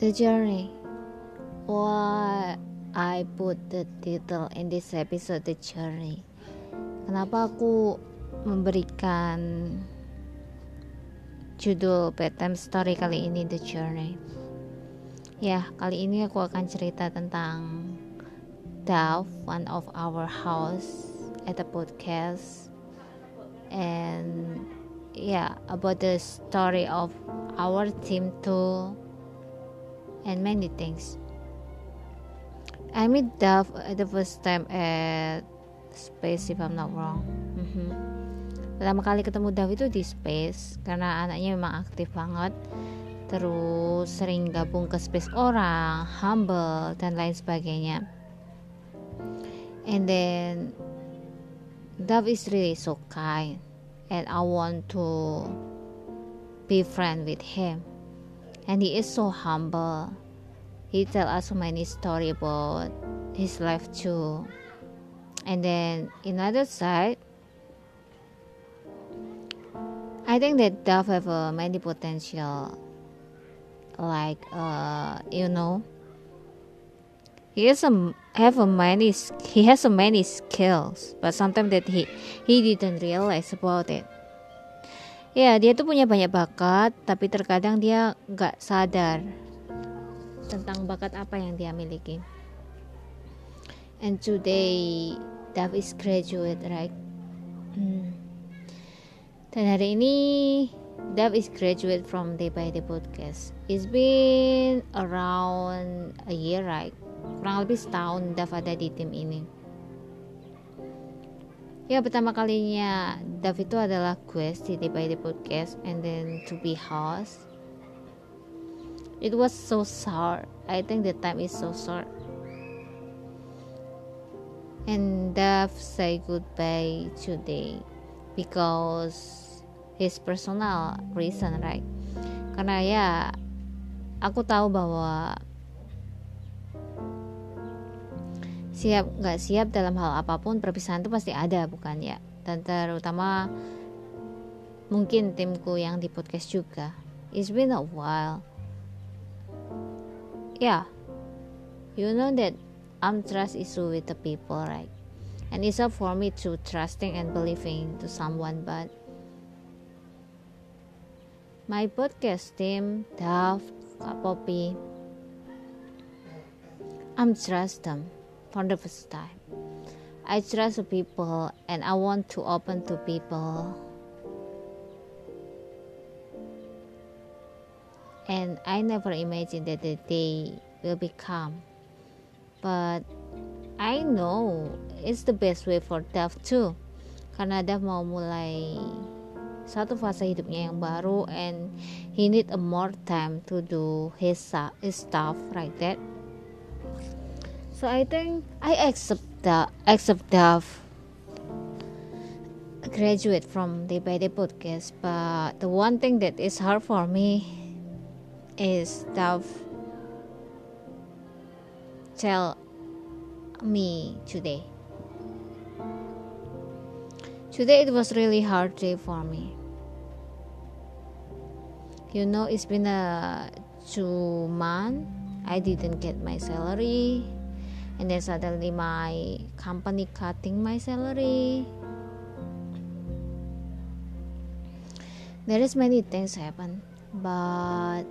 The journey. Why I put the title in this episode The Journey. Kenapa aku memberikan judul bedtime story kali ini The Journey? Ya, kali ini aku akan cerita tentang Dove, one of our house at the podcast, and about the story of our team too, and many things. I meet Dove the first time at Space, if I'm not wrong. Pertama kali ketemu Dove itu di Space karena anaknya memang aktif banget, terus sering gabung ke Space orang, humble dan lain sebagainya. And then Dove is really so kind, and I want to be friend with him. And he is so humble. He tell us so many story about his life too. And then in other side, I think that Dove have many potential. Like he has so many skills, but sometimes that he didn't realize about it. Ya, dia tuh punya banyak bakat, tapi terkadang dia nggak sadar tentang bakat apa yang dia miliki. And today Dove is graduate, right? Dan hari ini Dove is graduate from Day by Day podcast. It's been around a year, right? Kurang lebih setahun Dove ada di tim ini. Ya, pertama kalinya Dove itu adalah guest di Day by Day podcast, and then to be host. It was so short. I think the time is so short. And Dove say goodbye today because his personal reason, right? Karena ya aku tahu bahwa siap nggak siap dalam hal apapun, perpisahan itu pasti ada, bukan ya? Dan terutama mungkin timku yang di podcast juga. It's been a while. Yeah, you know that I'm trust issue with the people, right? And it's up for me to trusting and believing to someone, but my podcast team, Dove, Kak Poppy, I'm trust them for the first time. I trust the people and I want to open to people. And I never imagined that the day will become. But I know it's the best way for Dove too. Karena Dove mau mulai satu fase hidupnya yang baru, and he need a more time to do his stuff like that. So I think I accept Dove graduate from Day by Day podcast. But the one thing that is hard for me is Dove tell me today. Today it was really hard day for me. You know, it's been 2 months I didn't get my salary, and then suddenly my company cutting my salary. There is many things happen, but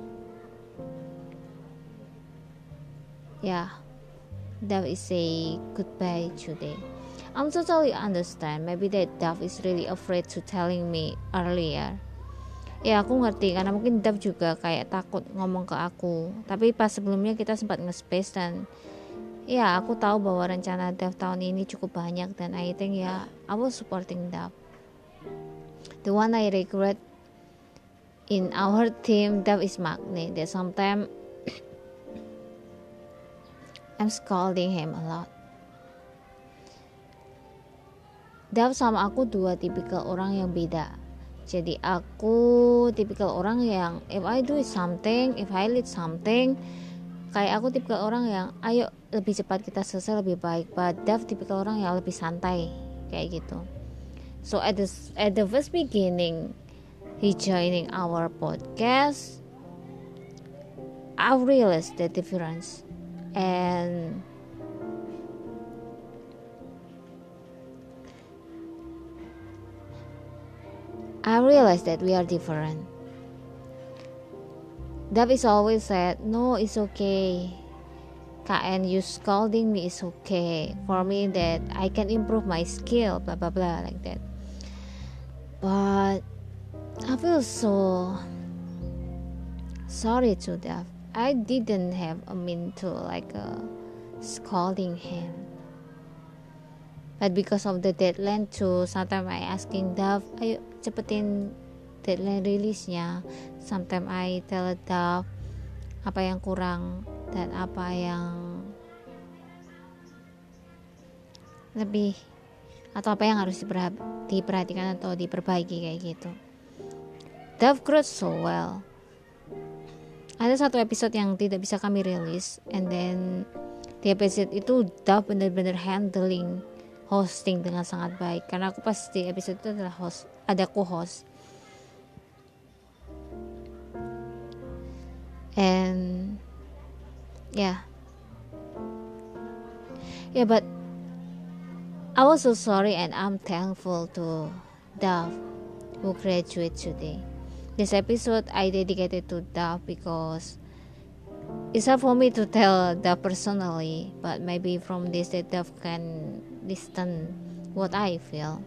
yeah, Dove is say goodbye today. I'm totally understand. Maybe that Dove is really afraid to telling me earlier. Ya, aku ngerti karena mungkin Dove juga kayak takut ngomong ke aku. Tapi pas sebelumnya kita sempat nge-space, dan ya aku tahu bahwa rencana Dove tahun ini cukup banyak, dan I think I was supporting Dove. The one I regret in our team, Dove is Magne. That sometimes I'm scolding him a lot. Dove sama aku dua tipikal orang yang beda. Jadi aku tipikal orang yang if I do something, if I lead something, kayak aku tipikal orang yang ayo lebih cepat kita selesai lebih baik. But Dove tipikal orang yang lebih santai kayak gitu. So at the first beginning he joining our podcast, I realized the difference, and I realized that we are different. Dave is always said, no, it's okay. KN, you scolding me is okay. For me, that I can improve my skill, blah blah blah, like that. But I feel so sorry to Dave. I didn't have a mean to scolding him. But because of the deadline too, sometimes I asking Dave, ayo cepetin deadline rilisnya. Sometimes I tell Dave apa yang kurang dan apa yang lebih atau apa yang harus diperhatikan atau diperbaiki kayak gitu. Dave grew so well. Ada satu episode yang tidak bisa kami rilis, and then di episode itu Dave benar-benar handling hosting dengan sangat baik, karena aku pas di episode itu adalah ada co-host. And yeah, but I was so sorry, and I'm thankful to Dave who graduated today. This episode I dedicated to Dave because it's hard for me to tell Dave personally, but maybe from this that Dave can listen what I feel.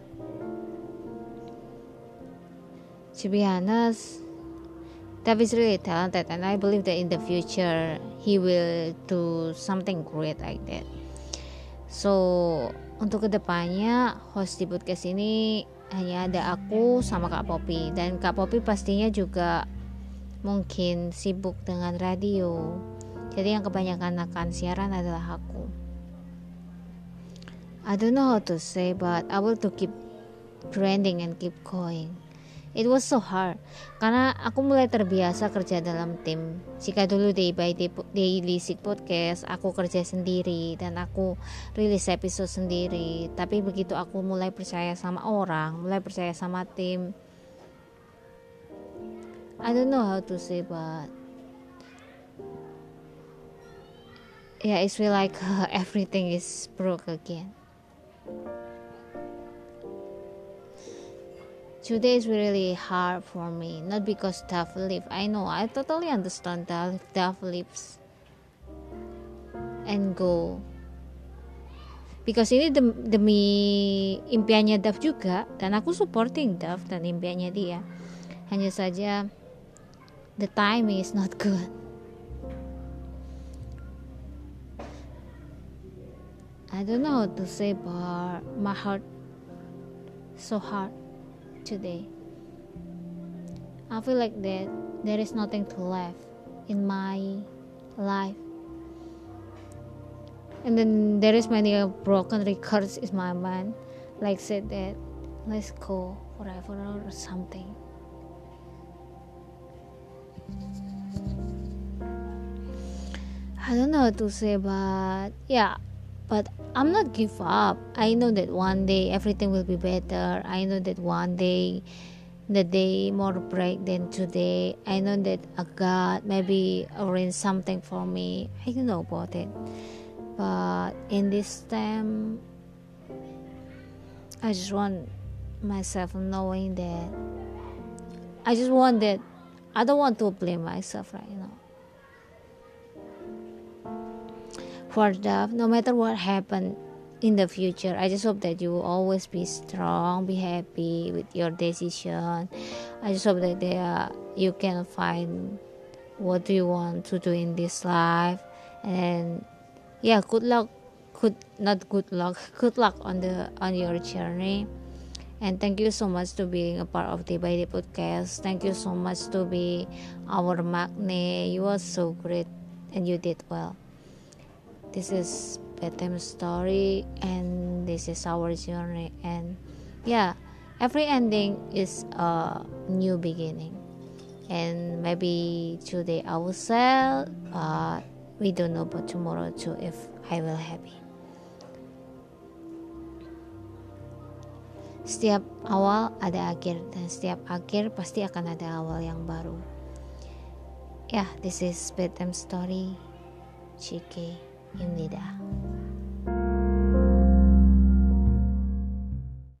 To be honest, Dave is really talented, and I believe that in the future he will do something great like that. So untuk kedepannya host di podcast ini hanya ada aku sama Kak Poppy, dan Kak Poppy pastinya juga mungkin sibuk dengan radio. Jadi yang kebanyakan akan siaran adalah aku. I don't know how to say, but I will to keep branding and keep going. It was so hard karena aku mulai terbiasa kerja dalam tim. Jika dulu day by day daily Seek podcast aku kerja sendiri dan aku rilis episode sendiri, tapi begitu aku mulai percaya sama orang, mulai percaya sama tim, I don't know how to say, but yeah, it's feel like everything is broke again. Today is really hard for me, not because Dave leave. I know, I totally understand that Dave leaves and go. Because ini demi impiannya Dave juga, dan aku supporting Dave dan impiannya dia. Hanya saja the timing is not good. I don't know how to say, but my heart so hard today. I feel like that there is nothing to left in my life, and then there is many broken records in my mind, like said that let's go forever or something. I don't know how to say, but yeah, but I'm not give up. I know that one day everything will be better. I know that one day the day more break than today. I know that God maybe arrange something for me. I don't know about it, but in this time I just want myself knowing that I just want that I don't want to blame myself right now. For that, no matter what happened in the future, I just hope that you will always be strong, be happy with your decision. I just hope that you can find what do you want to do in this life, and yeah, good luck on your journey. And thank you so much to being a part of Day by Day podcast. Thank you so much to be our Magne. You are so great and you did well. This is bedtime story, and this is our journey, and yeah, every ending is a new beginning, and maybe today I will sell, but we don't know about tomorrow too if I will happy. Setiap awal ada akhir, dan setiap akhir pasti akan ada awal yang baru. Yeah, this is bedtime story. Chike Indida.